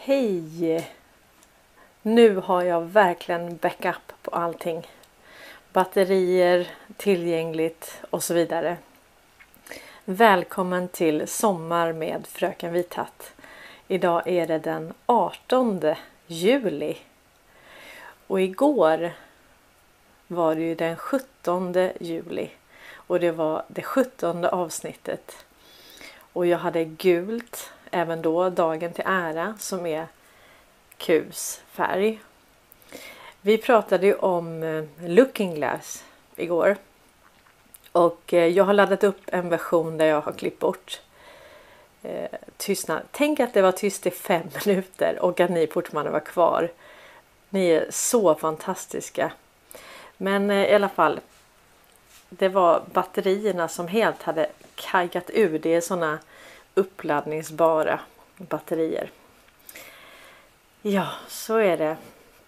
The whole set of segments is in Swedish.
Hej! Nu har jag verkligen backup på allting. Batterier, tillgängligt och så vidare. Välkommen till Sommar med Fröken Vithatt. Idag är det den 18 juli. Och igår var det ju den 17 juli. Och det var det 17:e avsnittet. Och jag hade gult även då, dagen till ära, som är Qs färg. Vi pratade ju om Looking Glass igår. Och jag har laddat upp en version där jag har klippt bort tystnad. Tänk att det var tyst i 5 minuter och att ni fortfarande var kvar. Ni är så fantastiska. Men i alla fall, det var batterierna som helt hade kajat ur. Det är såna uppladdningsbara batterier. Ja, så är det.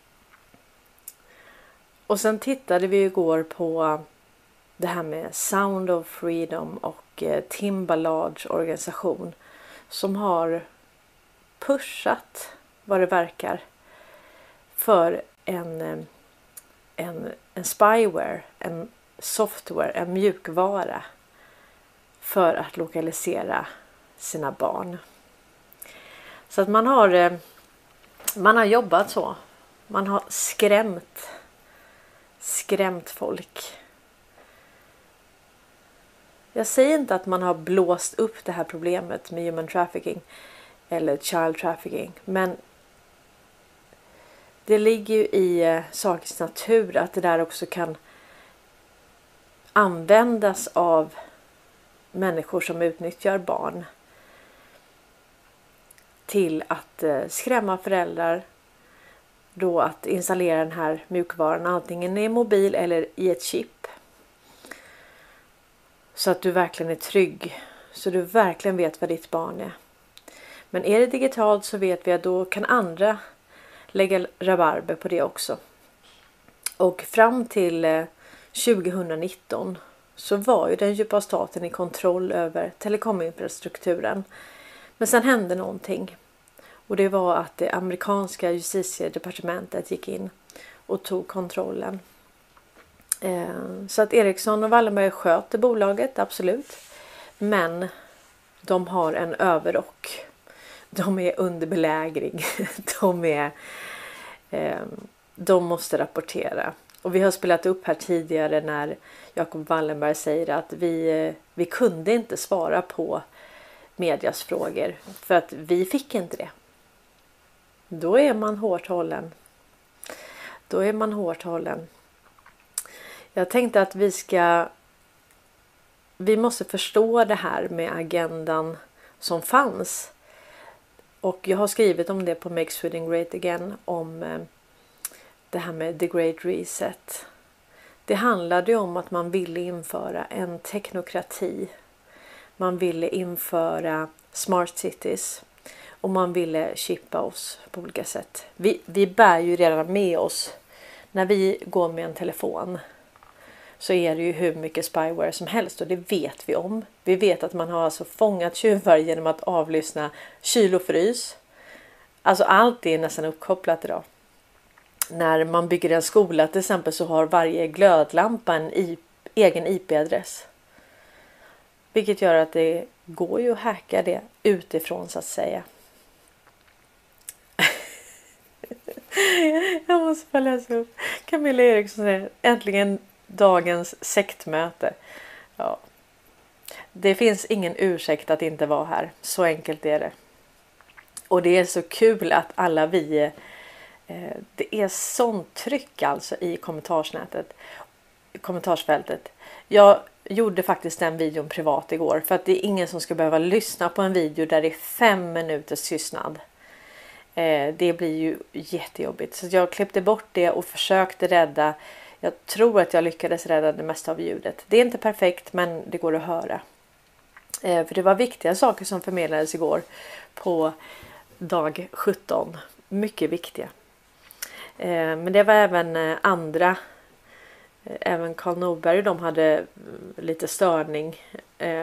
Och sen tittade vi igår på det här med Sound of Freedom och Tim Ballards organisation som har pushat, vad det verkar, för en spyware, en software, en mjukvara för att lokalisera sina barn. Så att man har jobbat så. Man har skrämt folk. Jag säger inte att man har blåst upp det här problemet med human trafficking eller child trafficking, men det ligger ju i sakens natur att det där också kan användas av människor som utnyttjar barn till att skrämma föräldrar, då att installera den här mjukvaran antingen i mobil eller i ett chip. Så att du verkligen är trygg. Så du verkligen vet vad ditt barn är. Men är det digitalt så vet vi att då kan andra lägga rabarber på det också. Och fram till 2019 så var ju den djupa staten i kontroll över telekominfrastrukturen. Men sen hände någonting. Och det var att det amerikanska justitiedepartementet gick in och tog kontrollen. Så att Ericsson och Wallenberg sköter bolaget, absolut. Men de har en överrock. De är under belägring. De måste rapportera. Och vi har spelat upp här tidigare när Jacob Wallenberg säger att vi kunde inte svara på medias frågor för att vi fick inte det. Då är man hårt hållen. Jag tänkte att vi måste förstå det här med agendan som fanns. Och jag har skrivit om det på Make Sweden Great Again, om det här med The Great Reset. Det handlade om att man ville införa en teknokrati. Man ville införa smart cities. Och man ville chippa oss på olika sätt. Vi bär ju redan med oss. När vi går med en telefon så är det ju hur mycket spyware som helst. Och det vet vi om. Vi vet att man har alltså fångat tjuvar genom att avlyssna kyl och frys. Alltså allt är nästan uppkopplat idag. När man bygger en skola till exempel så har varje glödlampa en egen IP-adress. Vilket gör att det går ju att hacka det utifrån så att säga. Jag måste bara läsa upp. Camilla Eriksson säger äntligen dagens sektmöte. Ja. Det finns ingen ursäkt att inte vara här. Så enkelt är det. Och det är så kul att alla vi... Det är sånt tryck alltså i kommentarsfältet. Jag gjorde faktiskt den videon privat igår. För att det är ingen som ska behöva lyssna på en video där det är 5 minuters tystnad. Det blir ju jättejobbigt. Så jag klippte bort det och försökte rädda. Jag tror att jag lyckades rädda det mesta av ljudet. Det är inte perfekt, men det går att höra. För det var viktiga saker som förmedlades igår på dag 17. Mycket viktiga. Men det var även andra. Även Carl Norberg, de hade lite störning.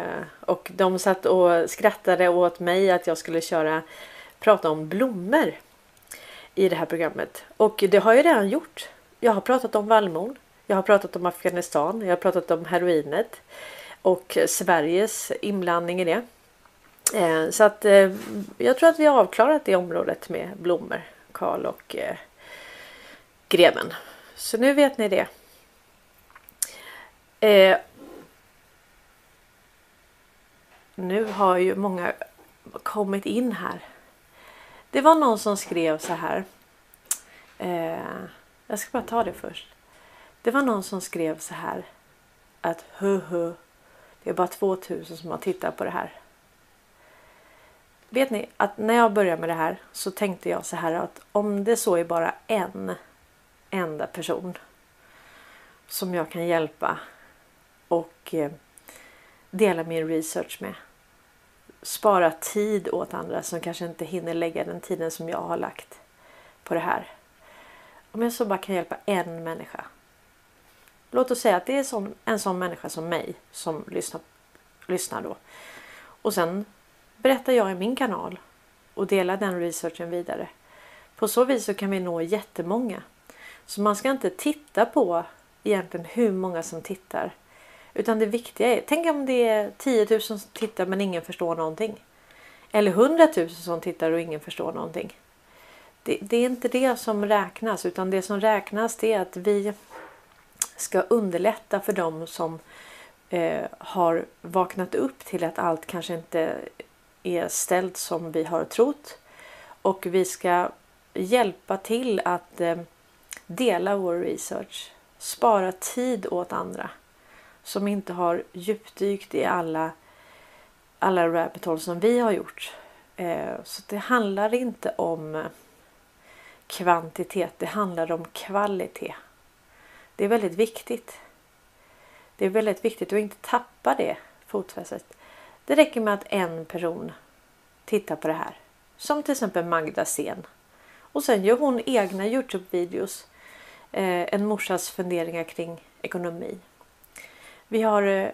Och de satt och skrattade åt mig att jag skulle prata om blommor. i det här programmet. Och det har jag redan gjort. Jag har pratat om vallmon. Jag har pratat om Afghanistan. Jag har pratat om heroinet. Och Sveriges inblandning i det. Så att jag tror att vi har avklarat det området med blommor, Karl och greven. Så nu vet ni det. Nu har ju många kommit in här. Det var någon som skrev så här. Jag ska bara ta det först. Det var någon som skrev så här. Att det är bara 2000 som har tittat på det här. Vet ni att när jag började med det här så tänkte jag så här att om det så är bara en enda person som jag kan hjälpa och dela min research med. Spara tid åt andra som kanske inte hinner lägga den tiden som jag har lagt på det här. Om jag så bara kan hjälpa en människa. Låt oss säga att det är en sån människa som mig som lyssnar då. Och sen berättar jag i min kanal och delar den researchen vidare. På så vis så kan vi nå jättemånga. Så man ska inte titta på egentligen hur många som tittar. Utan det viktiga är, tänk om det är 10 000 som tittar men ingen förstår någonting. Eller 100 000 som tittar och ingen förstår någonting. Det är inte det som räknas, utan det som räknas det är att vi ska underlätta för dem som har vaknat upp till att allt kanske inte är ställt som vi har trott. Och vi ska hjälpa till att dela vår research. Spara tid åt andra som inte har djupdykt i alla rabbit holes som vi har gjort. Så det handlar inte om kvantitet, det handlar om kvalitet. Det är väldigt viktigt. Det är väldigt viktigt att inte tappa det fotfästet. Det räcker med att en person tittar på det här. Som till exempel Magda Sten. Och sen gör hon egna YouTube-videos. En morsas funderingar kring ekonomi. Vi har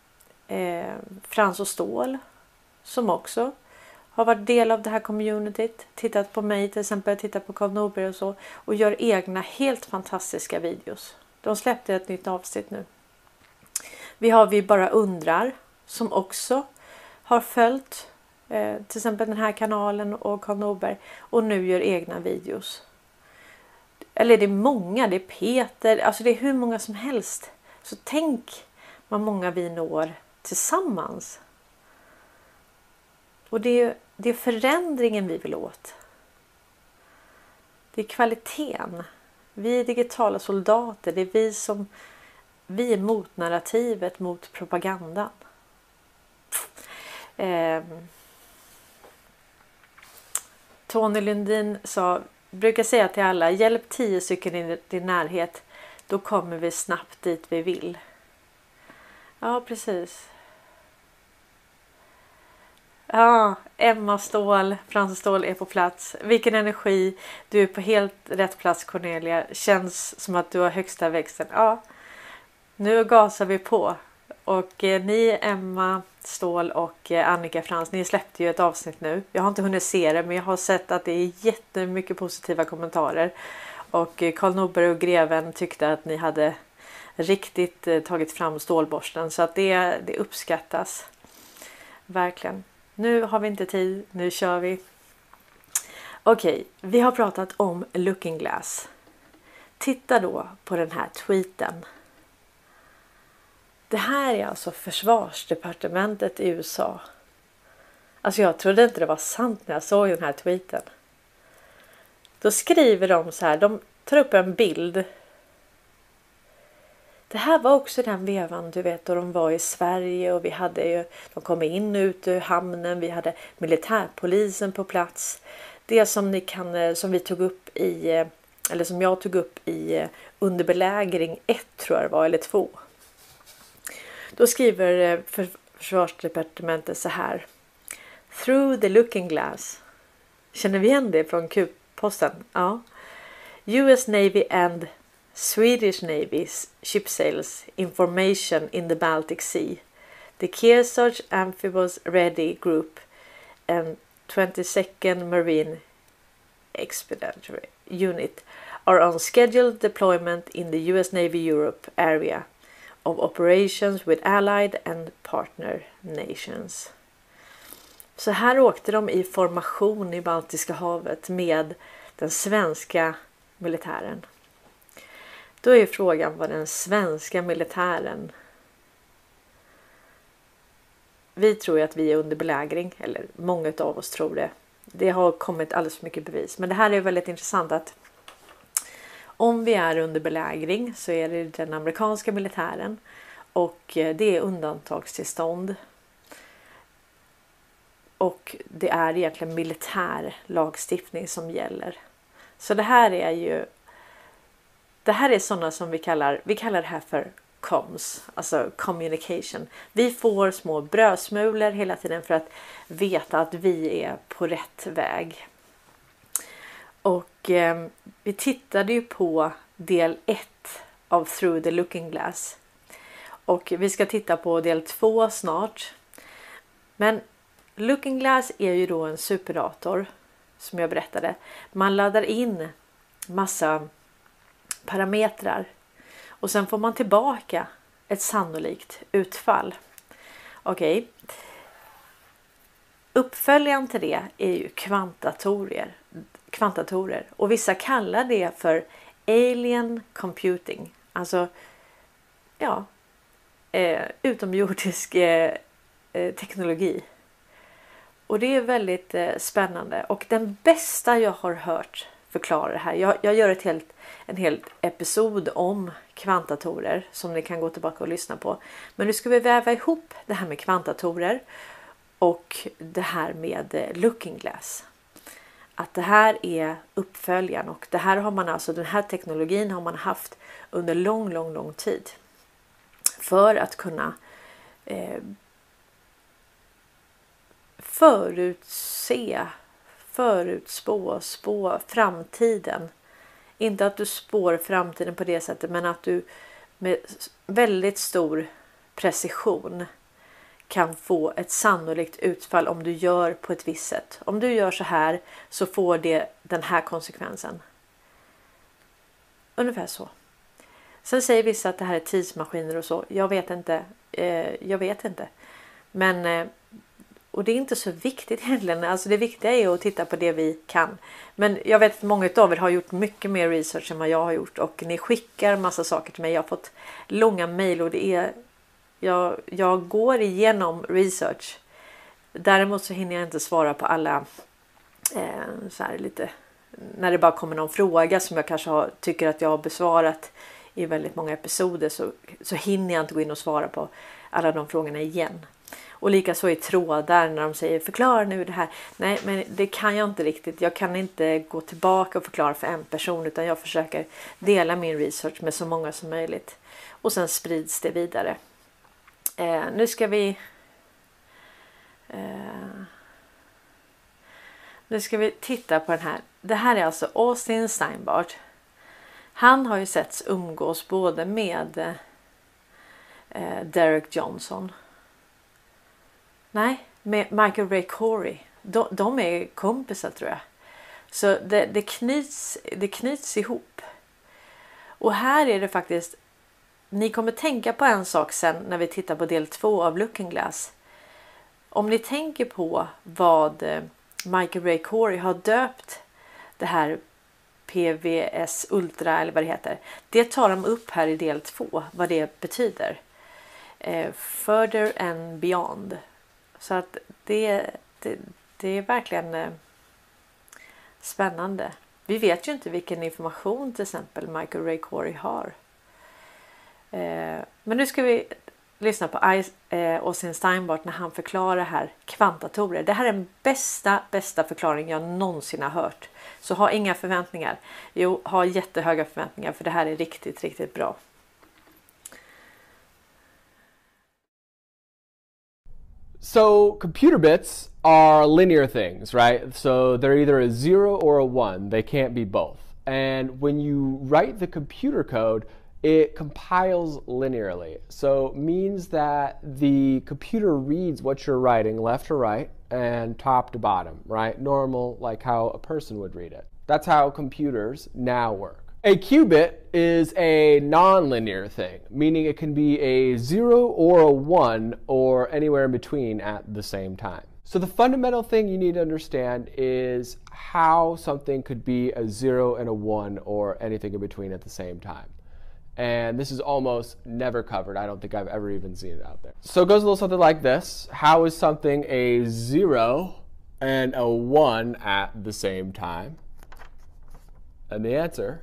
Frans och Stål som också har varit del av det här communityt. Tittat på mig till exempel, tittat på Karl Norberg och så. Och gör egna helt fantastiska videos. De släppte ett nytt avsnitt nu. Vi har Vi bara undrar som också har följt till exempel den här kanalen och Karl Norberg. Och nu gör egna videos. Eller det är många, det är Peter, alltså det är hur många som helst. Så tänk vad många vi når tillsammans. Och det är förändringen vi vill åt. Det är kvaliteten. Vi är digitala soldater. Det är vi är mot narrativet, mot propagandan. Tony Lundin brukar säga till alla, hjälp 10 stycken i din närhet. Då kommer vi snabbt dit vi vill. Ja, precis. Ja, Emma Ståhl, Frans Ståhl är på plats. Vilken energi. Du är på helt rätt plats, Cornelia. Känns som att du har högsta växten. Ja, nu gasar vi på. Och ni, Emma Ståhl och Annika Frans, ni släppte ju ett avsnitt nu. Jag har inte hunnit se det, men jag har sett att det är jättemycket positiva kommentarer. Och Karl Norberg och greven tyckte att ni hade riktigt tagit fram stålborsten. Så att det uppskattas. Verkligen. Nu har vi inte tid. Nu kör vi. Okej, vi har pratat om Looking Glass. Titta då på den här tweeten. Det här är alltså försvarsdepartementet i USA. Alltså jag trodde inte det var sant när jag såg den här tweeten. Då skriver de så här. De tar upp en bild. Det här var också den vevan, du vet, då de var i Sverige och vi hade ju, de kom in ut ur hamnen, vi hade militärpolisen på plats. Det som vi tog upp i, eller som jag tog upp i under belägring 1 tror jag det var, eller 2. Då skriver försvarsdepartementet så här. Through the looking glass. Känner vi igen det från Q-posten? Ja. US Navy and Swedish Navy's ship sails information in the Baltic Sea. The Kearsarge Amphibious Ready Group and 22nd Marine Expeditionary unit are on scheduled deployment in the US Navy Europe area of operations with allied and partner nations. Så här åkte de i formation i Baltiska havet med den svenska militären. Då är frågan vad den svenska militären... Vi tror ju att vi är under belägring, eller många av oss tror det. Det har kommit alldeles för mycket bevis. Men det här är väldigt intressant att om vi är under belägring så är det den amerikanska militären och det är undantagstillstånd. Och det är egentligen militär lagstiftning som gäller. Så det här är sådana som vi kallar det här för comms, alltså communication. Vi får små brödsmulor hela tiden för att veta att vi är på rätt väg. Och vi tittade ju på del 1 av Through the Looking Glass. Och vi ska titta på del 2 snart. Men Looking Glass är ju då en superdator som jag berättade. Man laddar in massa parametrar och sen får man tillbaka ett sannolikt utfall. Okej. Uppföljaren till det är ju kvantdatorer och vissa kallar det för alien computing. Alltså utomjordisk teknologi. Och det är väldigt spännande. Och den bästa jag har hört förklara det här. Jag gör en hel episod om kvantdatorer som ni kan gå tillbaka och lyssna på. Men nu ska vi väva ihop det här med kvantdatorer och det här med Looking Glass. Att det här är uppföljaren och det här har man alltså, den här teknologin har man haft under lång tid. För att kunna spå framtiden. Inte att du spår framtiden på det sättet, men att du med väldigt stor precision kan få ett sannolikt utfall om du gör på ett visst sätt. Om du gör så här så får det den här konsekvensen. Ungefär så. Sen säger vissa att det här är tidsmaskiner och så. Jag vet inte. Men och det är inte så viktigt egentligen. Alltså det viktiga är att titta på det vi kan. Men jag vet att många av er har gjort mycket mer research än vad jag har gjort. Och ni skickar massa saker till mig. Jag har fått långa mejl och det är... Jag går igenom research. Däremot så hinner jag inte svara på alla så här lite... När det bara kommer någon fråga som jag kanske tycker att jag har besvarat i väldigt många episoder så hinner jag inte gå in och svara på alla de frågorna igen. Och likaså i trådar när de säger förklara nu det här. Nej, men det kan jag inte riktigt. Jag kan inte gå tillbaka och förklara för en person utan jag försöker dela min research med så många som möjligt. Och sen sprids det vidare. Nu ska vi titta på den här. Det här är alltså Austin Steinbart. Han har ju setts umgås både med Derek Johnson. Nej, med Michael Ray Corey. De är kompisar tror jag. Så det knyts ihop. Och här är det faktiskt... Ni kommer tänka på en sak sen när vi tittar på del 2 av Looking Glass. Om ni tänker på vad Michael Ray Corey har döpt det här PVS Ultra eller vad det heter. Det tar de upp här i del 2. Vad det betyder. Further and beyond. Så att det är verkligen spännande. Vi vet ju inte vilken information till exempel Michael Ray Corey har. Men nu ska vi lyssna på Austin Steinbart när han förklarar här kvantdatorer. Det här är den bästa förklaring jag någonsin har hört. Så ha inga förväntningar. Jo, ha jättehöga förväntningar för det här är riktigt bra. So computer bits are linear things, right? So they're either a 0 or a 1. They can't be both. And when you write the computer code, it compiles linearly. So it means that the computer reads what you're writing left to right and top to bottom, right? Normal, like how a person would read it. That's how computers now work. A qubit is a nonlinear thing, meaning it can be a 0 or a 1 or anywhere in between at the same time. So the fundamental thing you need to understand is how something could be a 0 and a 1 or anything in between at the same time. And this is almost never covered. I don't think I've ever even seen it out there. So it goes a little something like this. How is something a 0 and a 1 at the same time? And the answer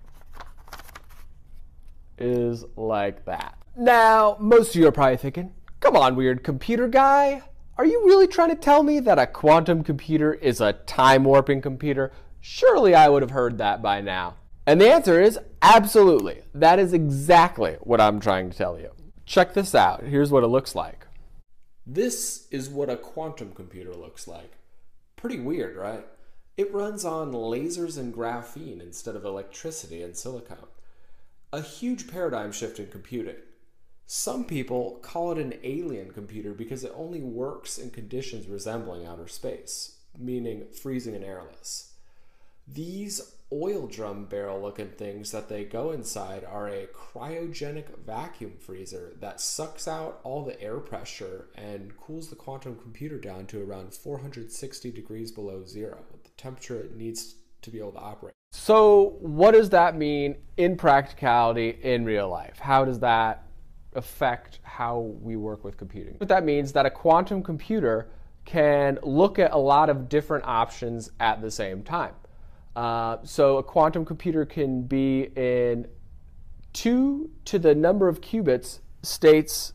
is like that. Now, most of you are probably thinking, come on, weird computer guy. Are you really trying to tell me that a quantum computer is a time warping computer? Surely I would have heard that by now. And the answer is absolutely. That is exactly what I'm trying to tell you. Check this out. Here's what it looks like. This is what a quantum computer looks like. Pretty weird, right? It runs on lasers and graphene instead of electricity and silicon. A huge paradigm shift in computing. Some people call it an alien computer because it only works in conditions resembling outer space, meaning freezing and airless. These oil drum barrel looking things that they go inside are a cryogenic vacuum freezer that sucks out all the air pressure and cools the quantum computer down to around 460 degrees below zero, the temperature it needs to be able to operate. So what does that mean in practicality in real life? How does that affect how we work with computing? What that means is that a quantum computer can look at a lot of different options at the same time. So a quantum computer can be in 2 to the number of qubits states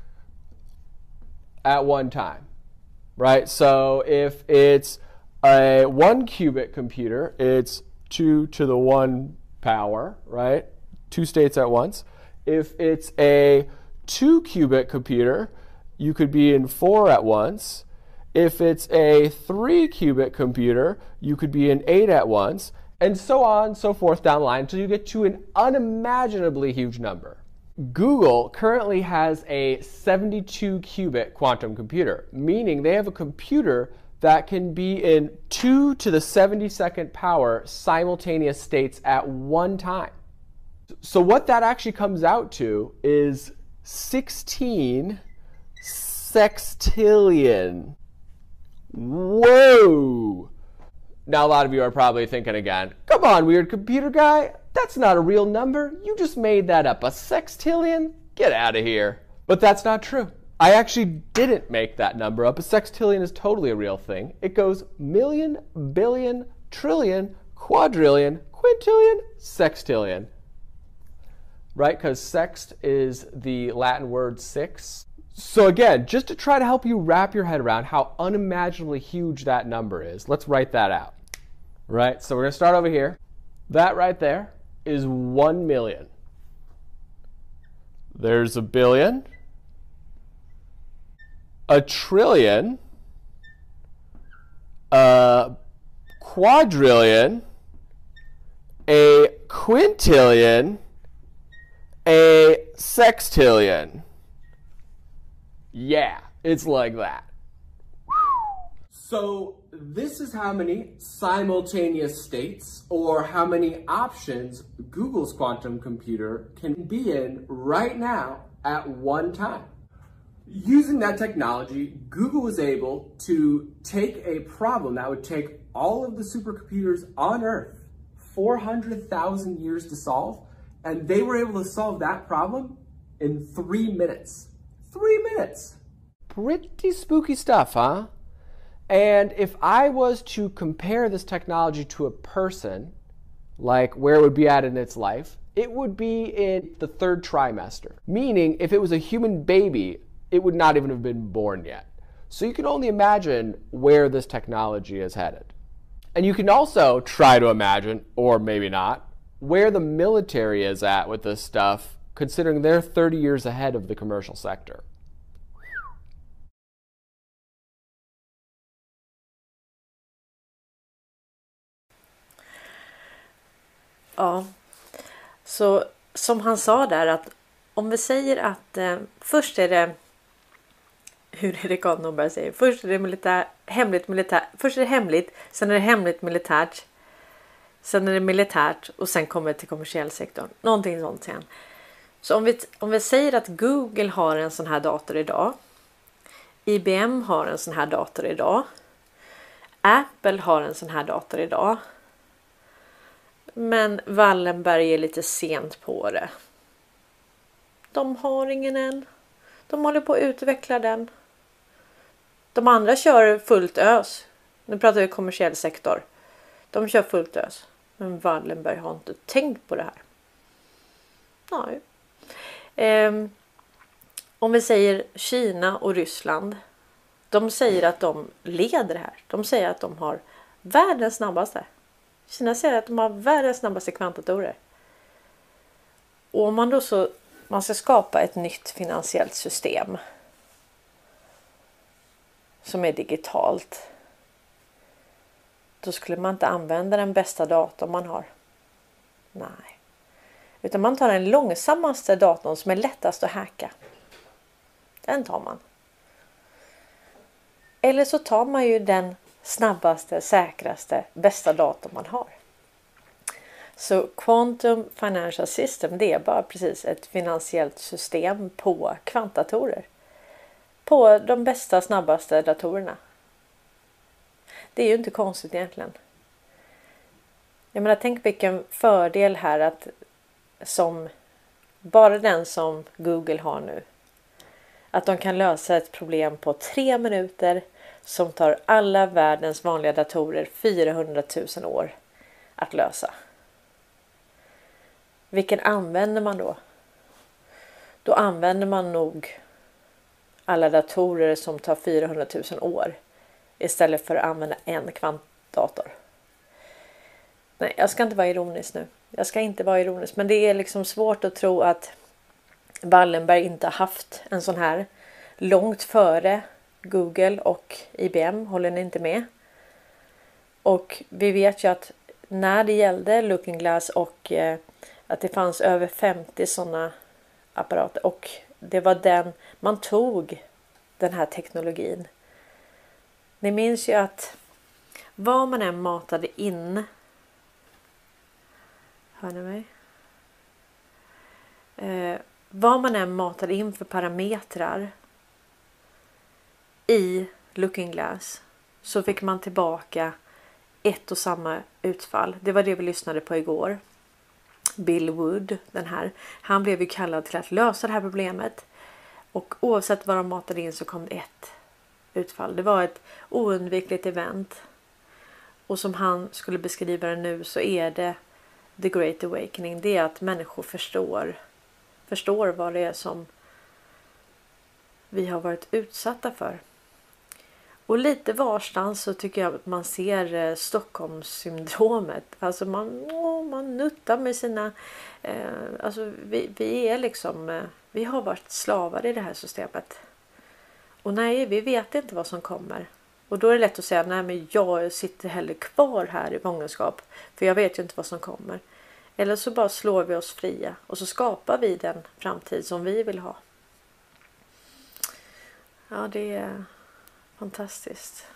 at one time, right? So if it's a 1 qubit computer, it's 2 to the 1 power, right? 2 states at once. If it's a 2 qubit computer, you could be in 4 at once. If it's a 3 qubit computer, you could be in 8 at once, and so on, so forth down the line until you get to an unimaginably huge number. Google currently has a 72 qubit quantum computer, meaning they have a computer that can be in 2 to the 72nd power simultaneous states at one time. So what that actually comes out to is 16 sextillion. Whoa! Now a lot of you are probably thinking again, come on, weird computer guy, that's not a real number. You just made that up. A sextillion? Get out of here. But that's not true. I actually didn't make that number up. A sextillion is totally a real thing. It goes million, billion, trillion, quadrillion, quintillion, sextillion. Right? Because sext is the Latin word six. So again, just to try to help you wrap your head around how unimaginably huge that number is, let's write that out. Right? So we're going to start over here. That right there is 1 million. There's a billion, a trillion, a quadrillion, a quintillion, a sextillion. Yeah, it's like that. So this is how many simultaneous states or how many options Google's quantum computer can be in right now at one time. Using that technology, Google was able to take a problem that would take all of the supercomputers on Earth 400,000 years to solve, and they were able to solve that problem in 3 minutes. 3 minutes. Pretty spooky stuff, huh? And if I was to compare this technology to a person, like where it would be at in its life, it would be in the 3rd trimester. Meaning, if it was a human baby, it would not even have been born yet. So you can only imagine where this technology is headed. And you can also try to imagine, or maybe not, where the military is at with this stuff, considering they're 30 years ahead of the commercial sector. Ja, så som han sa där, att om vi säger att först är det, hur är det Karl Norberg säger, först är det hemligt, sen är det hemligt militärt, Sen är det militärt och sen kommer det till kommersiell sektor. Någonting sånt sen. Så om vi säger att Google har en sån här dator idag. IBM har en sån här dator idag. Apple har en sån här dator idag. Men Wallenberg är lite sent på det. De har ingen än. De håller på att utveckla den. De andra kör fullt ös. Nu pratar vi kommersiell sektor. De kör fullt ös. Men Wallenberg har inte tänkt på det här. Nej. Om vi säger Kina och Ryssland. De säger att de leder här. De säger att de har världens snabbaste. Kina säger att de har världens snabbaste kvantdatorer. Och om man då man ska skapa ett nytt finansiellt system som är digitalt, då skulle man inte använda den bästa datorn man har. Nej. Utan man tar den långsammaste datorn som är lättast att hacka. Den tar man. Eller så tar man ju den snabbaste, säkraste, bästa datorn man har. Så Quantum Financial System, det är bara precis ett finansiellt system på kvantdatorer. På de bästa, snabbaste datorerna. Det är ju inte konstigt egentligen. Jag menar, tänk vilken fördel här att bara den som Google har nu. Att de kan lösa ett problem på 3 minuter som tar alla världens vanliga datorer 400 000 år att lösa. Vilken använder man då? Då använder man nog alla datorer som tar 400 000 år istället för att använda en kvantdator. Nej, jag ska inte vara ironisk nu. Jag ska inte vara ironisk, men det är liksom svårt att tro att Wallenberg inte har haft en sån här långt före Google och IBM. Håller ni inte med? Och vi vet ju att när det gällde Looking Glass och att det fanns över 50 sådana apparater och det var man tog den här teknologin. Ni minns ju att vad man än matade in. Hör ni mig? Vad man än matade in för parametrar i Looking Glass så fick man tillbaka ett och samma utfall. Det var det vi lyssnade på igår. Bill Wood, han blev ju kallad till att lösa det här problemet. Och oavsett vad de matade in så kom det ett utfall. Det var ett oundvikligt event. Och som han skulle beskriva det nu så är det The Great Awakening. Det är att människor förstår vad det är som vi har varit utsatta för. Och lite varstans så tycker jag att man ser Stockholmssyndromet. Alltså man nuttar med sina... alltså vi är liksom... vi har varit slavar i det här systemet. Och nej, vi vet inte vad som kommer. Och då är det lätt att säga, nej men jag sitter hellre kvar här i fångenskap. För jag vet ju inte vad som kommer. Eller så bara slår vi oss fria. Och så skapar vi den framtid som vi vill ha. Ja, det är fantastiskt.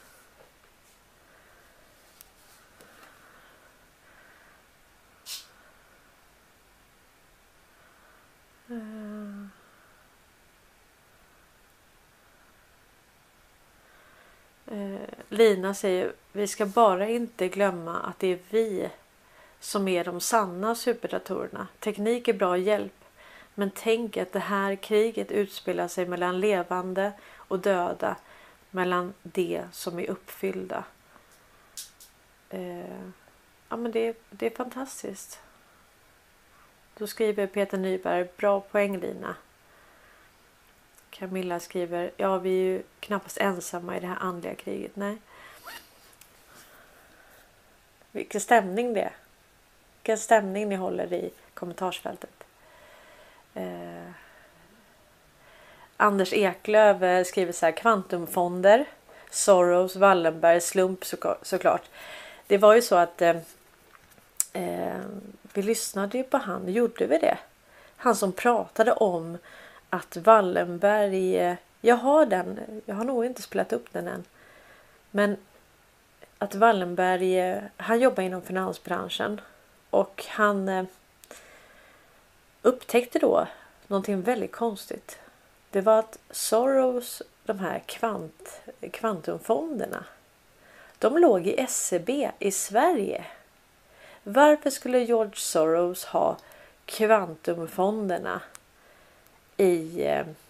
Lina säger, vi ska bara inte glömma att det är vi som är de sanna superdatorerna. Teknik är bra hjälp. Men tänk att det här kriget utspelar sig mellan levande och döda. Mellan det som är uppfyllda. Ja, men det är fantastiskt. Då skriver Peter Nyberg, bra poäng Lina. Camilla skriver, ja vi är ju knappast ensamma i det här andliga kriget. Nej. Vilken stämning det är. Vilken stämning ni håller i kommentarsfältet. Anders Eklöv skriver så här, kvantumfonder, Soros, Wallenberg, slump såklart. Det var ju så att vi lyssnade ju på han, gjorde vi det? Han som pratade om att Wallenberg, jag har nog inte spelat upp den än. Men att Wallenberg, han jobbar inom finansbranschen och han upptäckte då någonting väldigt konstigt. Det var att Soros, de här kvantumfonderna, de låg i SEB i Sverige. Varför skulle George Soros ha kvantumfonderna i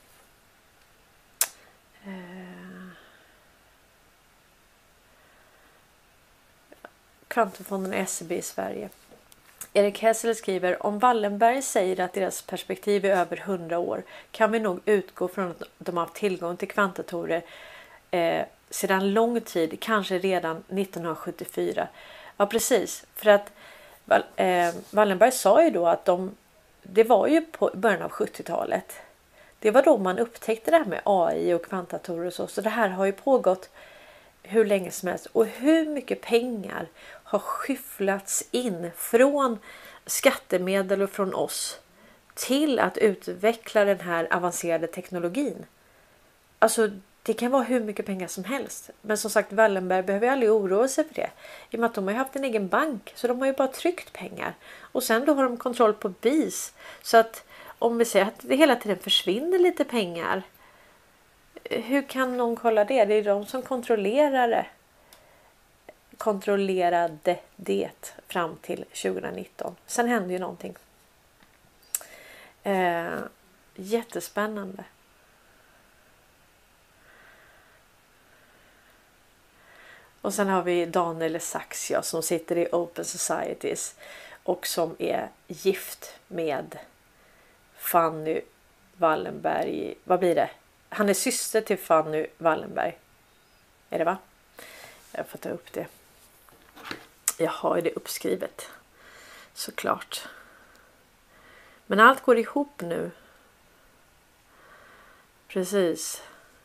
kvantumfonderna SEB i Sverige? Erik Hessel skriver: om Wallenberg säger att deras perspektiv är över 100 år kan vi nog utgå från att de har haft tillgång till kvantdatorer sedan lång tid, kanske redan 1974. Ja, precis. För att Wallenberg sa ju då att det var ju på början av 70-talet. Det var då man upptäckte det här med AI och kvantdatorer och så. Så det här har ju pågått hur länge som helst. Och hur mycket pengar har skyfflats in från skattemedel och från oss till att utveckla den här avancerade teknologin. Alltså det kan vara hur mycket pengar som helst. Men som sagt, Wallenberg behöver aldrig oroa sig för det. I och med att de har haft en egen bank. Så de har ju bara tryckt pengar. Och sen då har de kontroll på BIS. Så att om vi säger att det hela tiden försvinner lite pengar. Hur kan någon kolla det? Det är de som kontrollerar det. Kontrollerade det fram till 2019. Sen hände ju någonting. Jättespännande. Och sen har vi Daniel Sachs som sitter i Open Societies och som är gift med Fanny Wallenberg. Vad blir det? Han är syster till Fanny Wallenberg. Är det va? Jag får ta upp det. Jag har det uppskrivet. Såklart. Men allt går ihop nu. Precis.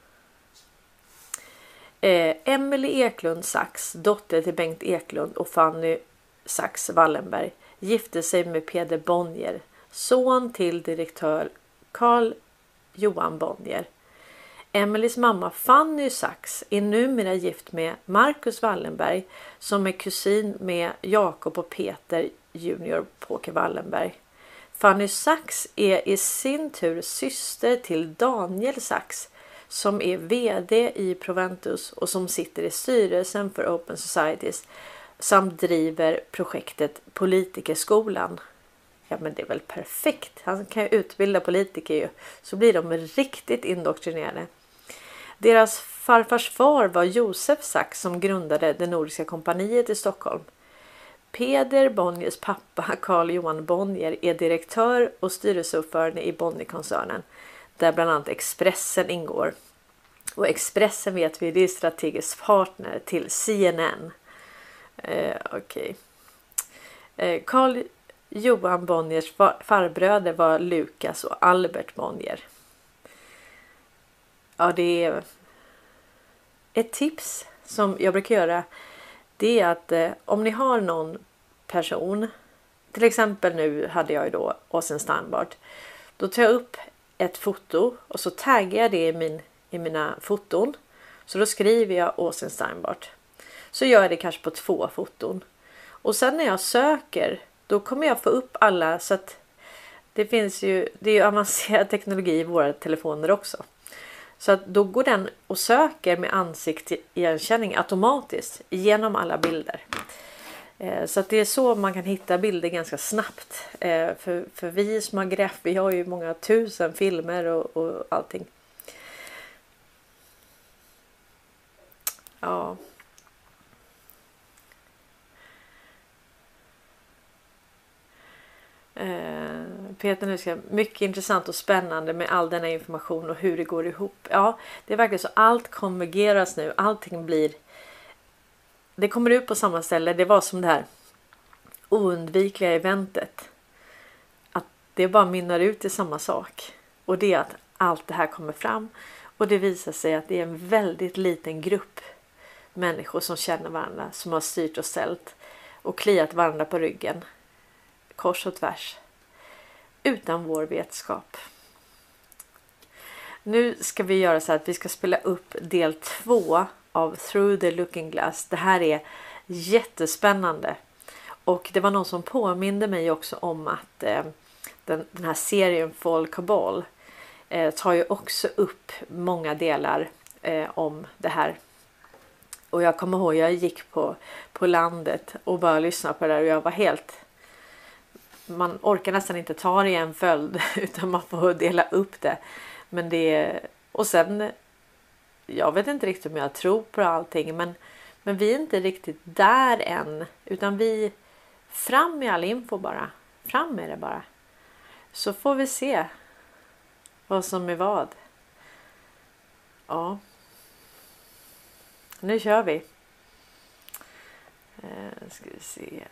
Emily Eklund Sachs, dotter till Bengt Eklund och Fanny Sachs Wallenberg, gifte sig med Peder Bonnier, son till direktör Carl Johan Bonnier. Emelies mamma Fanny Sachs är numera gift med Marcus Wallenberg som är kusin med Jakob och Peter Junior Påke Wallenberg. Fanny Sachs är i sin tur syster till Daniel Sachs som är vd i Proventus och som sitter i styrelsen för Open Societies samt driver projektet Politikerskolan. Ja, men det är väl perfekt. Han kan ju utbilda politiker ju. Så blir de riktigt indoktrinerade. Deras farfars far var Josef Sachs som grundade det Nordiska kompaniet i Stockholm. Peder Bonniers pappa Carl Johan Bonnier är direktör och styrelseordförande i Bonnierkoncernen där bland annat Expressen ingår. Och Expressen vet vi, det är strategisk partner till CNN. Okej. Carl Johan Bonniers farbröder var Lukas och Albert Bonnier. Ja, det är ett tips som jag brukar göra. Det är att om ni har någon person, till exempel nu hade jag ju då Åsen Steinbart. Då tar jag upp ett foto och så taggar jag det i mina foton. Så då skriver jag Åsen Steinbart. Så gör jag det kanske på 2 foton. Och sen när jag söker, då kommer jag få upp alla, så att det är ju avancerad teknologi i våra telefoner också. Så att då går den och söker med ansiktsigenkänning automatiskt genom alla bilder. Så att det är så man kan hitta bilder ganska snabbt. För vi som har grävt, vi har ju många tusen filmer och allting. Ja. Peter nu ska mycket intressant och spännande med all denna information och hur det går ihop. Ja, det är verkligen så, allt konvergeras nu. Allting blir, det kommer ut på samma ställe. Det var som det här oundvikliga eventet. Att det bara mynnar ut i samma sak. Och det är att allt det här kommer fram. Och det visar sig att det är en väldigt liten grupp människor som känner varandra. Som har styrt och ställt. Och kliat varandra på ryggen. Kors och tvärs. Utan vår vetskap. Nu ska vi göra så att vi ska spela upp del 2 av Through the Looking Glass. Det här är jättespännande. Och det var någon som påminde mig också om att den här serien Fall Cabal tar ju också upp många delar om det här. Och jag kommer ihåg, jag gick på landet och bara lyssnade på det där och jag var helt... Man orkar nästan inte ta det i en följd utan man får dela upp det. Men det... Och sen... Jag vet inte riktigt om jag tror på allting, men vi är inte riktigt där än. Utan vi... Fram med all info bara. Fram med det bara. Så får vi se vad som är vad. Ja. Nu kör vi. Ska vi se.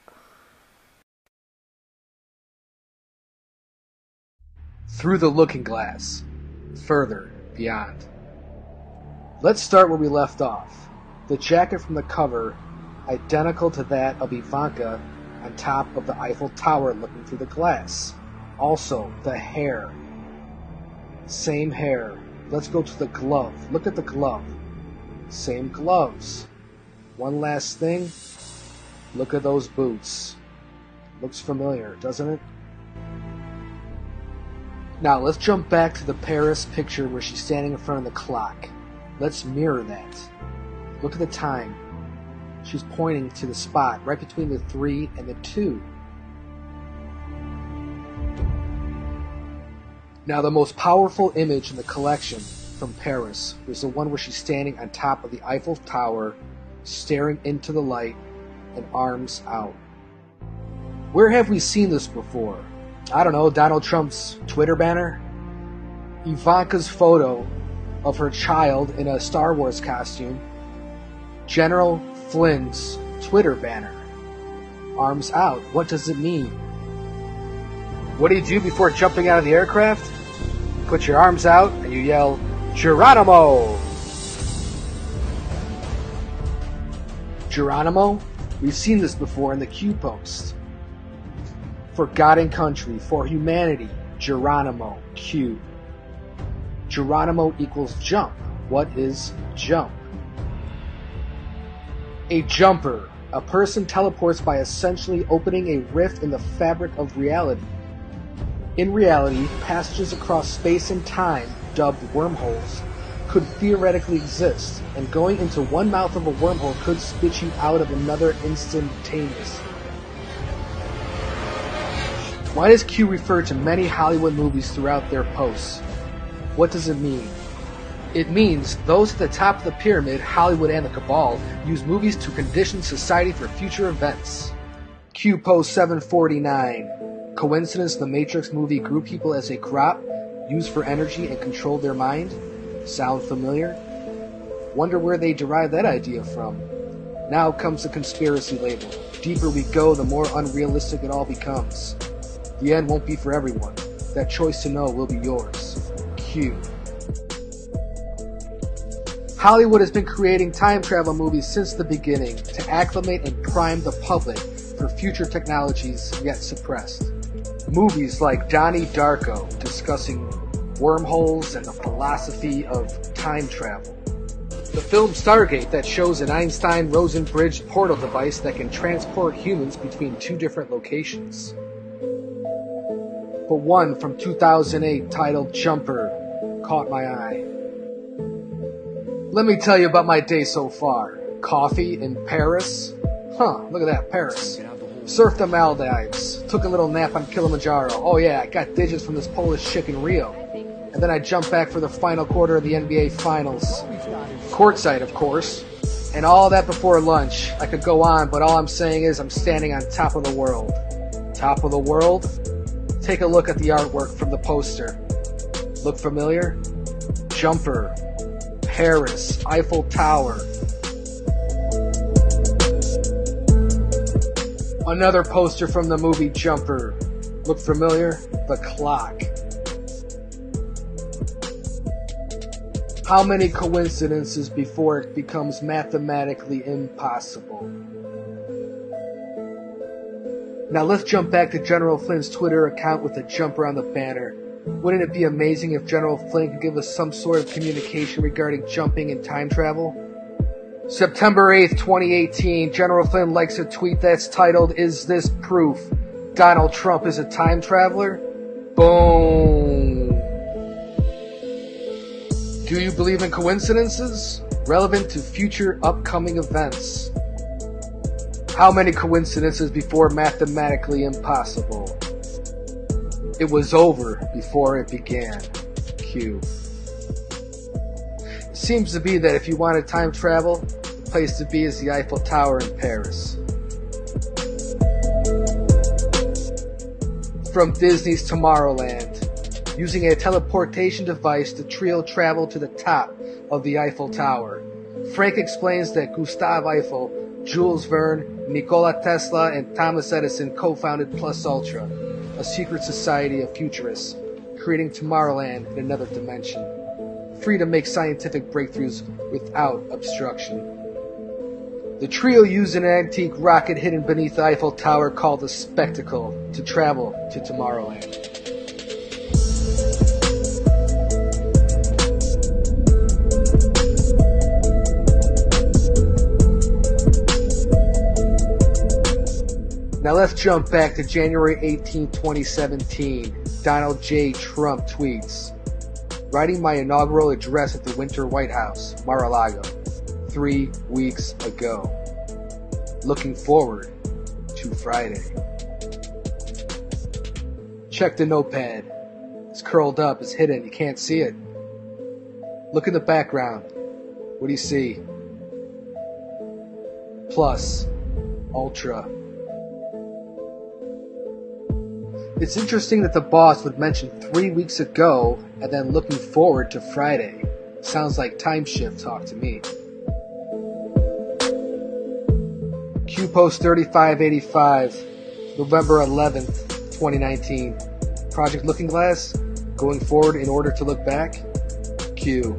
Through the Looking Glass. Further beyond. Let's start where we left off. The jacket from the cover, identical to that of Ivanka on top of the Eiffel Tower looking through the glass. Also, the hair. Same hair. Let's go to the glove. Look at the glove. Same gloves. One last thing. Look at those boots. Looks familiar, doesn't it? Now, let's jump back to the Paris picture where she's standing in front of the clock. Let's mirror that. Look at the time. She's pointing to the spot right between the 3 and the 2. Now, the most powerful image in the collection from Paris was the one where she's standing on top of the Eiffel Tower, staring into the light and arms out. Where have we seen this before? I don't know, Donald Trump's Twitter banner? Ivanka's photo of her child in a Star Wars costume? General Flynn's Twitter banner? Arms out. What does it mean? What do you do before jumping out of the aircraft? You put your arms out and you yell, Geronimo! Geronimo? We've seen this before in the Q post. For God and country, for humanity, Geronimo, Q. Geronimo equals jump. What is jump? A jumper. A person teleports by essentially opening a rift in the fabric of reality. In reality, passages across space and time, dubbed wormholes, could theoretically exist, and going into one mouth of a wormhole could spit you out of another instantaneously. Why does Q refer to many Hollywood movies throughout their posts? What does it mean? It means those at the top of the pyramid, Hollywood and the Cabal, use movies to condition society for future events. Q post 749. Coincidence the Matrix movie grew people as a crop, used for energy and controlled their mind? Sound familiar? Wonder where they derived that idea from. Now comes the conspiracy label. Deeper we go, the more unrealistic it all becomes. The end won't be for everyone. That choice to know will be yours. Q. Hollywood has been creating time travel movies since the beginning to acclimate and prime the public for future technologies yet suppressed. Movies like Donnie Darko discussing wormholes and the philosophy of time travel. The film Stargate that shows an Einstein-Rosen bridge portal device that can transport humans between two different locations. But one from 2008 titled Jumper caught my eye. Let me tell you about my day so far. Coffee in Paris. Look at that, Paris. Surfed the Maldives. Took a little nap on Kilimanjaro. Oh yeah, I got digits from this Polish chick in Rio. And then I jumped back for the final quarter of the NBA Finals. Courtside, of course. And all that before lunch. I could go on, but all I'm saying is I'm standing on top of the world. Top of the world? Take a look at the artwork from the poster. Look familiar? Jumper. Paris. Eiffel Tower. Another poster from the movie Jumper. Look familiar? The clock. How many coincidences before it becomes mathematically impossible? Now let's jump back to General Flynn's Twitter account with the jumper on the banner. Wouldn't it be amazing if General Flynn could give us some sort of communication regarding jumping and time travel? September 8th, 2018, General Flynn likes a tweet that's titled, "Is this proof Donald Trump is a time traveler?" Boom. Do you believe in coincidences? Relevant to future upcoming events. How many coincidences before mathematically impossible? It was over before it began. Q. It seems to be that if you want to time travel, the place to be is the Eiffel Tower in Paris. From Disney's Tomorrowland. Using a teleportation device, the trio travel to the top of the Eiffel Tower. Frank explains that Gustave Eiffel, Jules Verne, Nikola Tesla, and Thomas Edison co-founded Plus Ultra, a secret society of futurists, creating Tomorrowland in another dimension, free to make scientific breakthroughs without obstruction. The trio used an antique rocket hidden beneath the Eiffel Tower called the Spectacle to travel to Tomorrowland. Now let's jump back to January 18, 2017. Donald J. Trump tweets, "Writing my inaugural address at the Winter White House, Mar-a-Lago, 3 weeks ago. Looking forward to Friday." Check the notepad. It's curled up, it's hidden, you can't see it. Look in the background. What do you see? Plus, Ultra. It's interesting that the boss would mention 3 weeks ago and then looking forward to Friday. Sounds like time shift talk to me. Q Post 3585, November 11th, 2019. Project Looking Glass, going forward in order to look back. Q.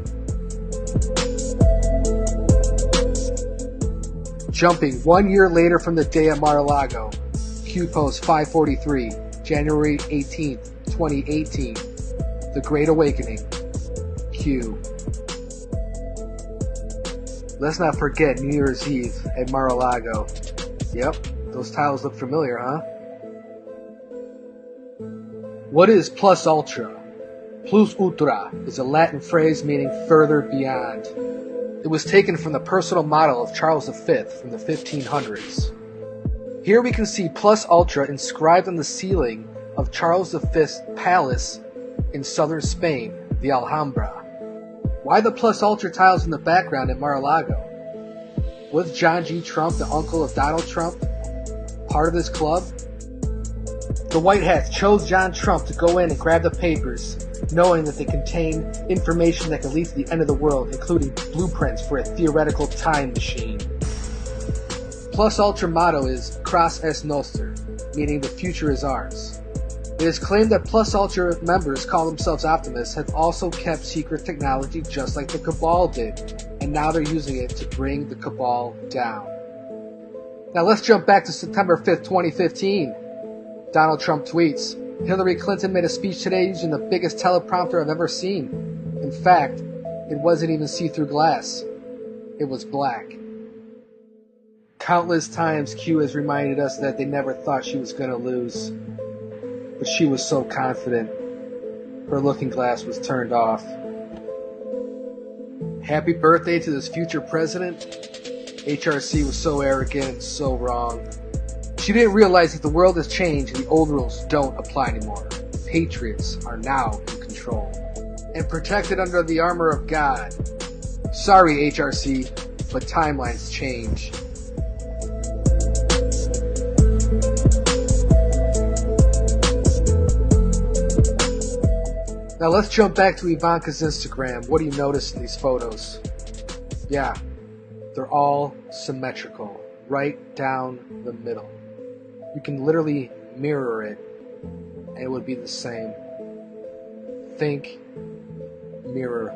Jumping 1 year later from the day at Mar-a-Lago. Q Post 543. January 18th, 2018, The Great Awakening. Q. Let's not forget New Year's Eve at Mar-a-Lago. Yep, those tiles look familiar, huh? What is plus ultra? Plus ultra is a Latin phrase meaning further beyond. It was taken from the personal motto of Charles V from the 1500s. Here we can see Plus Ultra inscribed on the ceiling of Charles V's palace in southern Spain, the Alhambra. Why the Plus Ultra tiles in the background at Mar-a-Lago? Was John G. Trump, the uncle of Donald Trump, part of this club? The White Hats chose John Trump to go in and grab the papers, knowing that they contain information that could lead to the end of the world, including blueprints for a theoretical time machine. Plus Ultra motto is Cras est Noster, meaning the future is ours. It is claimed that Plus Ultra members call themselves optimists have also kept secret technology just like the Cabal did, and now they're using it to bring the Cabal down. Now let's jump back to September 5th, 2015. Donald Trump tweets, "Hillary Clinton made a speech today using the biggest teleprompter I've ever seen. In fact, it wasn't even see-through glass. It was black." Countless times Q has reminded us that they never thought she was going to lose. But she was so confident. Her looking glass was turned off. Happy birthday to this future president. HRC was so arrogant and so wrong. She didn't realize that the world has changed and the old rules don't apply anymore. Patriots are now in control. And protected under the armor of God. Sorry, HRC, but timelines change. Now let's jump back to Ivanka's Instagram. What do you notice in these photos? Yeah, they're all symmetrical, right down the middle. You can literally mirror it, and it would be the same. Think, mirror.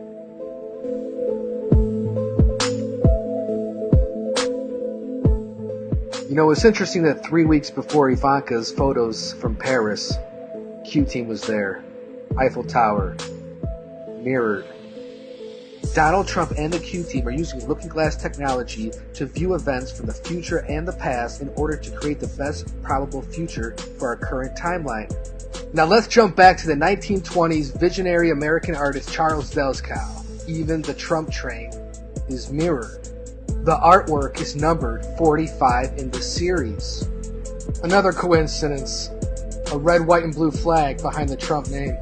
You know, it's interesting that 3 weeks before Ivanka's photos from Paris, Q Team was there. Eiffel Tower, mirrored. Donald Trump and the Q team are using looking glass technology to view events from the future and the past in order to create the best probable future for our current timeline. Now let's jump back to the 1920s visionary American artist Charles Delskow. Even the Trump train is mirrored. The artwork is numbered 45 in the series. Another coincidence, a red, white, and blue flag behind the Trump name.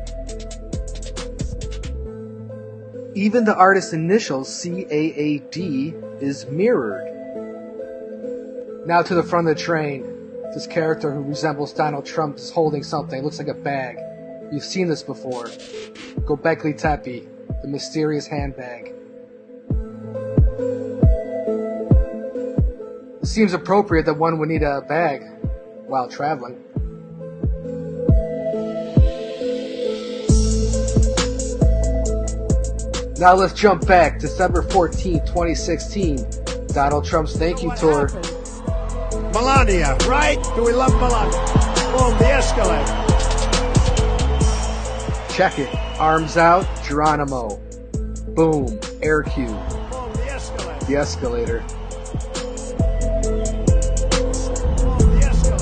Even the artist's initials, CAAD, is mirrored. Now to the front of the train. This character who resembles Donald Trump is holding something. It looks like a bag. You've seen this before. Gobekli Tepe, the mysterious handbag. It seems appropriate that one would need a bag while traveling. Now let's jump back. December 14, 2016. Donald Trump's thank you tour. Melania, right? Do we love Melania? Boom, the escalator. Check it. Arms out, Geronimo. Boom, air cue. Boom, the escalator. The escalator. Boom,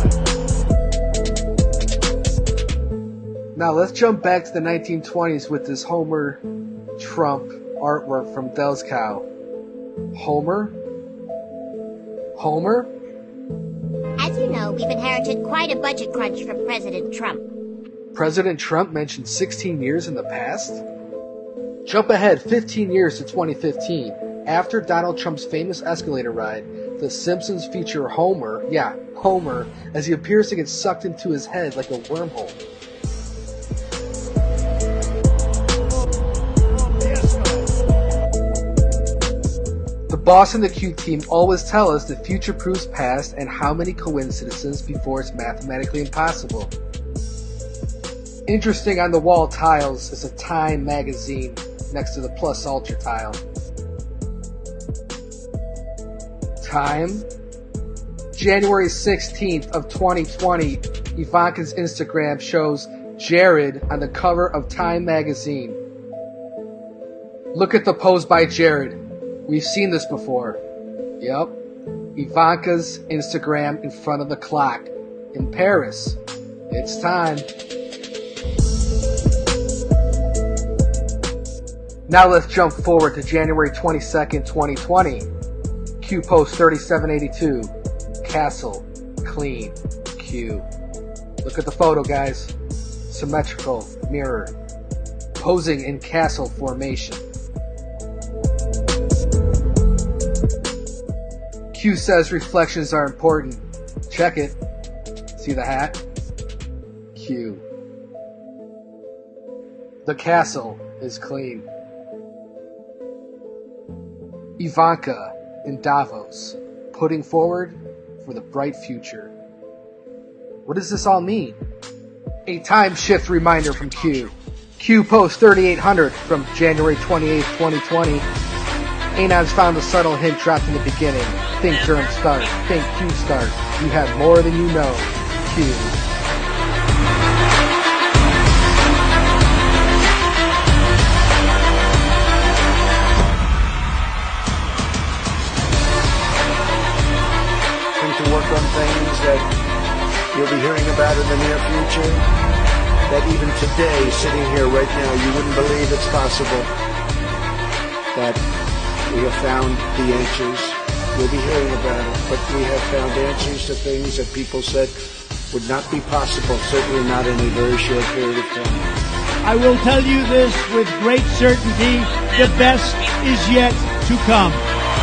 the escalator. Now let's jump back to the 1920s with this Homer Trump artwork from Delskow. Homer? Homer? As you know, we've inherited quite a budget crunch from President Trump. President Trump mentioned 16 years in the past? Jump ahead 15 years to 2015. After Donald Trump's famous escalator ride, The Simpsons feature Homer, Homer, as he appears to get sucked into his head like a wormhole. The boss and the Q team always tell us the future proves past and how many coincidences before it's mathematically impossible. Interesting on the wall tiles is a Time magazine next to the Plus Ultra tile. Time? January 16th of 2020, Ivanka's Instagram shows Jared on the cover of Time magazine. Look at the pose by Jared. We've seen this before. Yep. Ivanka's Instagram in front of the clock in Paris. It's time. Now let's jump forward to January 22nd, 2020. Q post 3782. Castle. Clean. Q. Look at the photo, guys. Symmetrical. Mirror. Posing in castle formation. Q says reflections are important. Check it. See the hat? Q. The castle is clean. Ivanka in Davos, putting forward for the bright future. What does this all mean? A time shift reminder from Q. Q post 3800 from January 28th, 2020. Anon's found a subtle hint dropped in the beginning. Think germ start. Think Q start. You have more than you know. Q. To work on things that you'll be hearing about in the near future, that even today, sitting here right now, you wouldn't believe it's possible that we have found the answers. You'll be hearing about it, but we have found answers to things that people said would not be possible, certainly not in a very short period of time. I will tell you this with great certainty, the best is yet to come.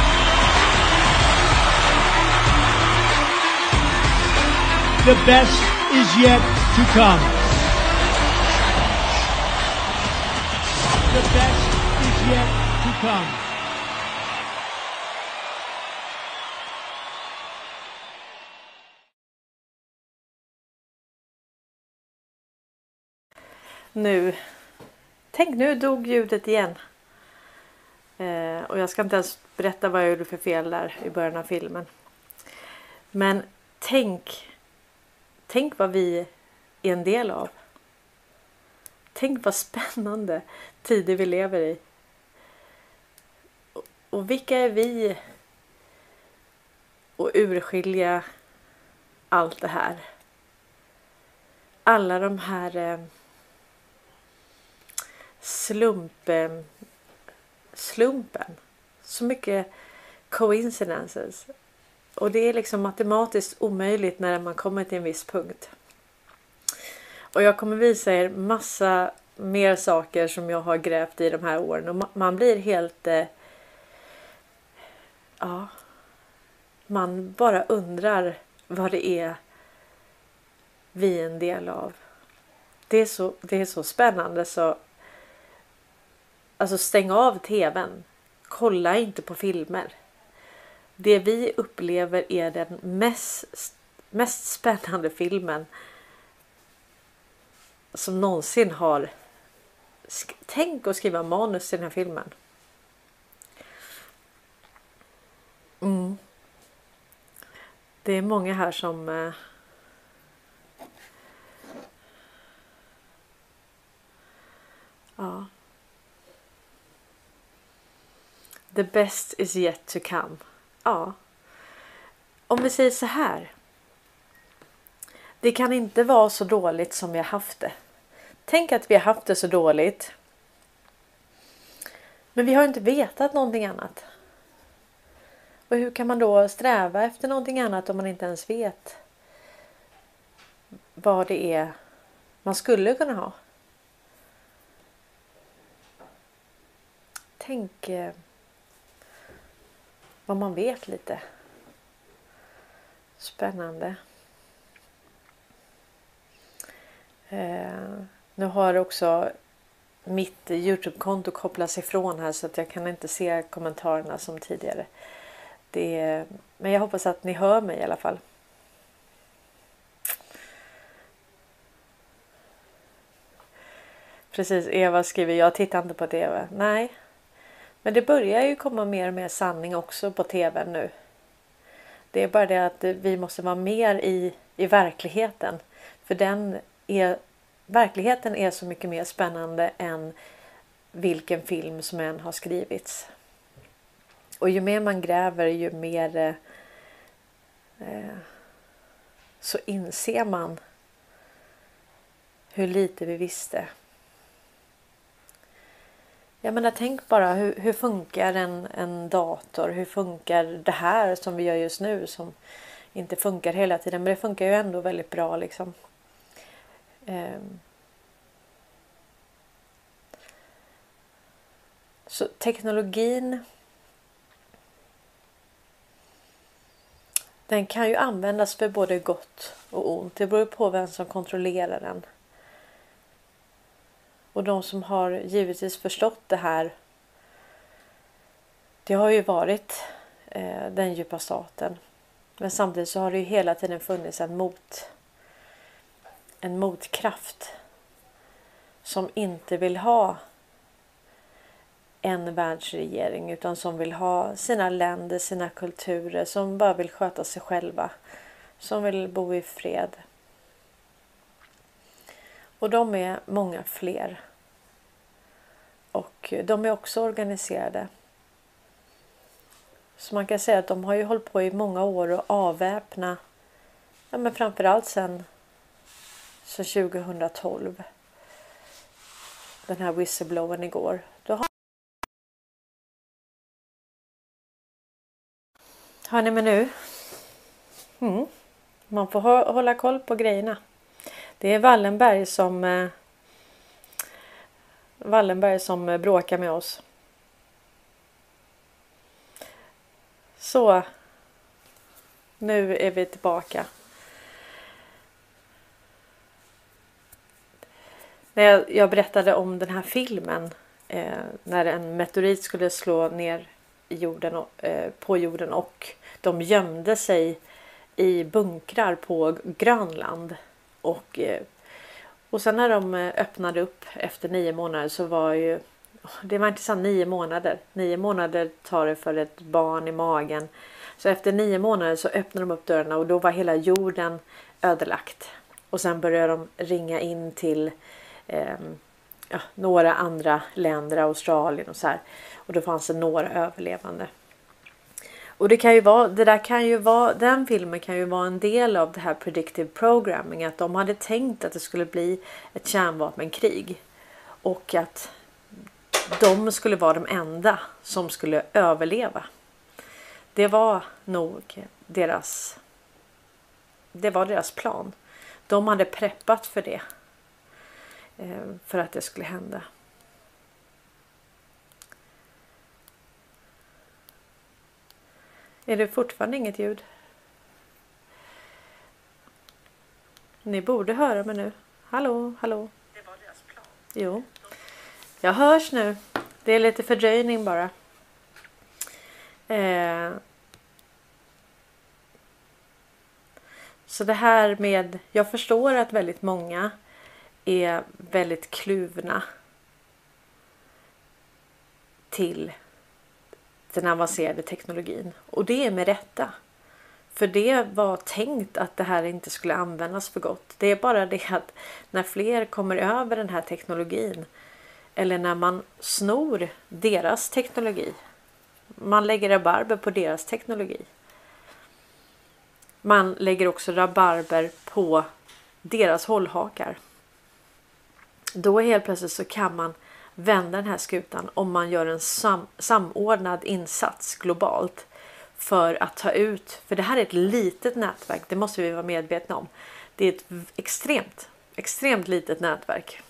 The best is yet to come. The best is yet to come. Tänk, nu dog ljudet igen. Och jag ska inte ens berätta vad jag gjorde för fel där i början av filmen. Men tänk vad vi är en del av. Tänk vad spännande tider vi lever i. Och vilka är vi att urskilja allt det här? Alla de här slumpen. Så mycket coincidences. Och det är liksom matematiskt omöjligt när man kommer till en viss punkt. Och jag kommer visa er massa mer saker som jag har grävt i de här åren. Och man blir helt... man bara undrar vad det är vi är en del av. Det är så spännande så... Alltså stäng av tvn. Kolla inte på filmer. Det vi upplever är den mest spännande filmen som någonsin har... Tänk att skriva manus till den här filmen. Det är många här som... The best is yet to come. Ja. Om vi säger så här. Det kan inte vara så dåligt som vi har haft det. Tänk att vi har haft det så dåligt. Men vi har inte vetat någonting annat. Och hur kan man då sträva efter någonting annat om man inte ens vet vad det är man skulle kunna ha? Tänk vad man vet lite. Spännande. Nu har också mitt YouTube-konto kopplats ifrån här så att jag kan inte se kommentarerna som tidigare. Men jag hoppas att ni hör mig i alla fall. Precis, Eva skriver, jag tittar inte på TV. Nej, men det börjar ju komma mer och mer sanning också på TV nu. Det är bara det att vi måste vara mer i verkligheten. För verkligheten är så mycket mer spännande än vilken film som än har skrivits. Och ju mer man gräver, ju mer så inser man hur lite vi visste. Jag menar, tänk bara hur funkar en dator? Hur funkar det här som vi gör just nu som inte funkar hela tiden? Men det funkar ju ändå väldigt bra liksom. Så teknologin, den kan ju användas för både gott och ont. Det beror på vem som kontrollerar den. Och de som har givetvis förstått det här, det har ju varit den djupa staten. Men samtidigt så har det ju hela tiden funnits en motkraft som inte vill ha en världsregering utan som vill ha sina länder, sina kulturer, som bara vill sköta sig själva, som vill bo i fred. Och de är många fler. Och de är också organiserade. Så man kan säga att de har ju hållit på i många år att avväpna, men framförallt sen 2012. Den här whistleblowern igår. Hör ni mig nu? Man får hålla koll på grejerna. Det är Wallenberg som bråkar med oss. Så. Nu är vi tillbaka. När jag berättade om den här filmen. När en meteorit skulle slå ner i jorden på jorden och de gömde sig i bunkrar på Grönland och sen när de öppnade upp efter 9 månader så var ju det var inte så 9 månader. 9 månader tar det för ett barn i magen. Så efter 9 månader så öppnade de upp dörrarna och då var hela jorden ödelagt. Och sen började de ringa in till några andra länder, Australien och så här. Och då fanns det några överlevande. Och den filmen kan ju vara en del av det här predictive programming. Att de hade tänkt att det skulle bli ett kärnvapenkrig. Och att de skulle vara de enda som skulle överleva. Det var nog deras plan. De hade preppat för det. För att det skulle hända. Är det fortfarande inget ljud? Ni borde höra mig nu. Hallå, hallå. Det var deras plan. Jo. Jag hörs nu. Det är lite fördröjning bara. Så det här med... Jag förstår att väldigt många är väldigt kluvna till den avancerade teknologin. Och det är med rätta. För det var tänkt att det här inte skulle användas för gott. Det är bara det att när fler kommer över den här teknologin, eller när man snor deras teknologi, man lägger rabarber på deras teknologi. Man lägger också rabarber på deras hållhakar. Då helt plötsligt så kan man vända den här skutan om man gör en samordnad insats globalt för att ta ut, för det här är ett litet nätverk, det måste vi vara medvetna om. Det är ett extremt litet nätverk.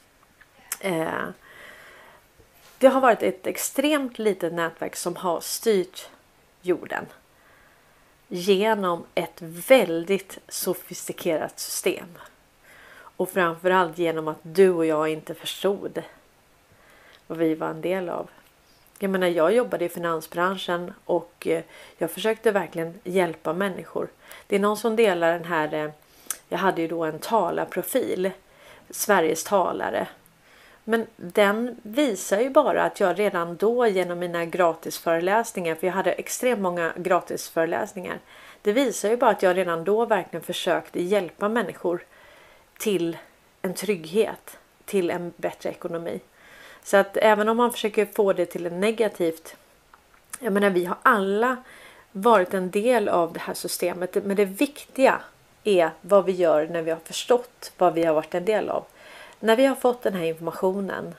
Det har varit ett extremt litet nätverk som har styrt jorden genom ett väldigt sofistikerat system. Och framförallt genom att du och jag inte förstod vad vi var en del av. Jag menar, jag jobbade i finansbranschen och jag försökte verkligen hjälpa människor. Det är någon som delar den här, jag hade ju då en talarprofil, Sveriges talare. Men den visar ju bara att jag redan då genom mina gratisföreläsningar, för jag hade extremt många gratisföreläsningar. Det visar ju bara att jag redan då verkligen försökte hjälpa människor till en trygghet, till en bättre ekonomi. Så att även om man försöker få det till en negativt, jag menar, vi har alla varit en del av det här systemet. Men det viktiga är vad vi gör när vi har förstått vad vi har varit en del av. När vi har fått den här informationen,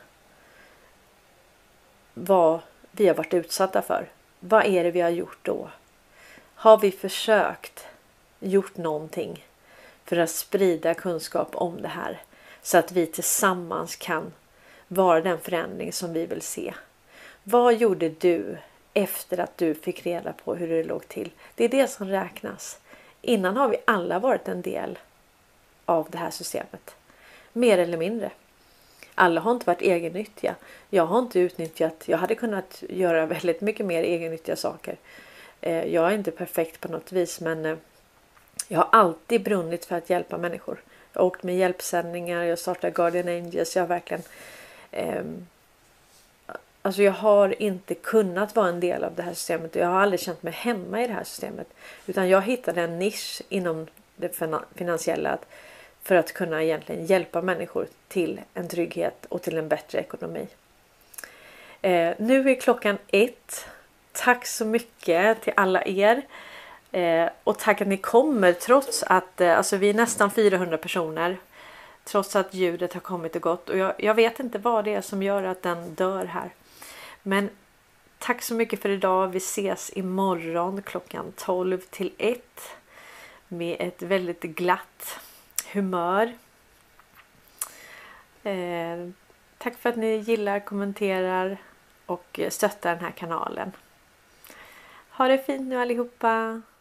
vad vi har varit utsatta för. Vad är det vi har gjort då? Har vi gjort någonting för att sprida kunskap om det här? Så att vi tillsammans kan vara den förändring som vi vill se. Vad gjorde du efter att du fick reda på hur det låg till? Det är det som räknas. Innan har vi alla varit en del av det här systemet. Mer eller mindre. Alla har inte varit egennyttiga. Jag har inte utnyttjat. Jag hade kunnat göra väldigt mycket mer egennyttiga saker. Jag är inte perfekt på något vis, men jag har alltid brunnit för att hjälpa människor. Jag har åkt med hjälpsändningar. Jag startade Guardian Angels. Jag har verkligen... Alltså jag har inte kunnat vara en del av det här systemet. Jag har aldrig känt mig hemma i det här systemet. Utan jag hittade en nisch inom det finansiella för att kunna egentligen hjälpa människor till en trygghet och till en bättre ekonomi. Nu är klockan 1. Tack så mycket till alla er. Och tack att ni kommer trots att alltså vi är nästan 400 personer. Trots att ljudet har kommit och gått. Och jag vet inte vad det är som gör att den dör här. Men tack så mycket för idag. Vi ses imorgon klockan 12 till 1. Med ett väldigt glatt humör. Tack för att ni gillar, kommenterar och stöttar den här kanalen. Ha det fint nu allihopa.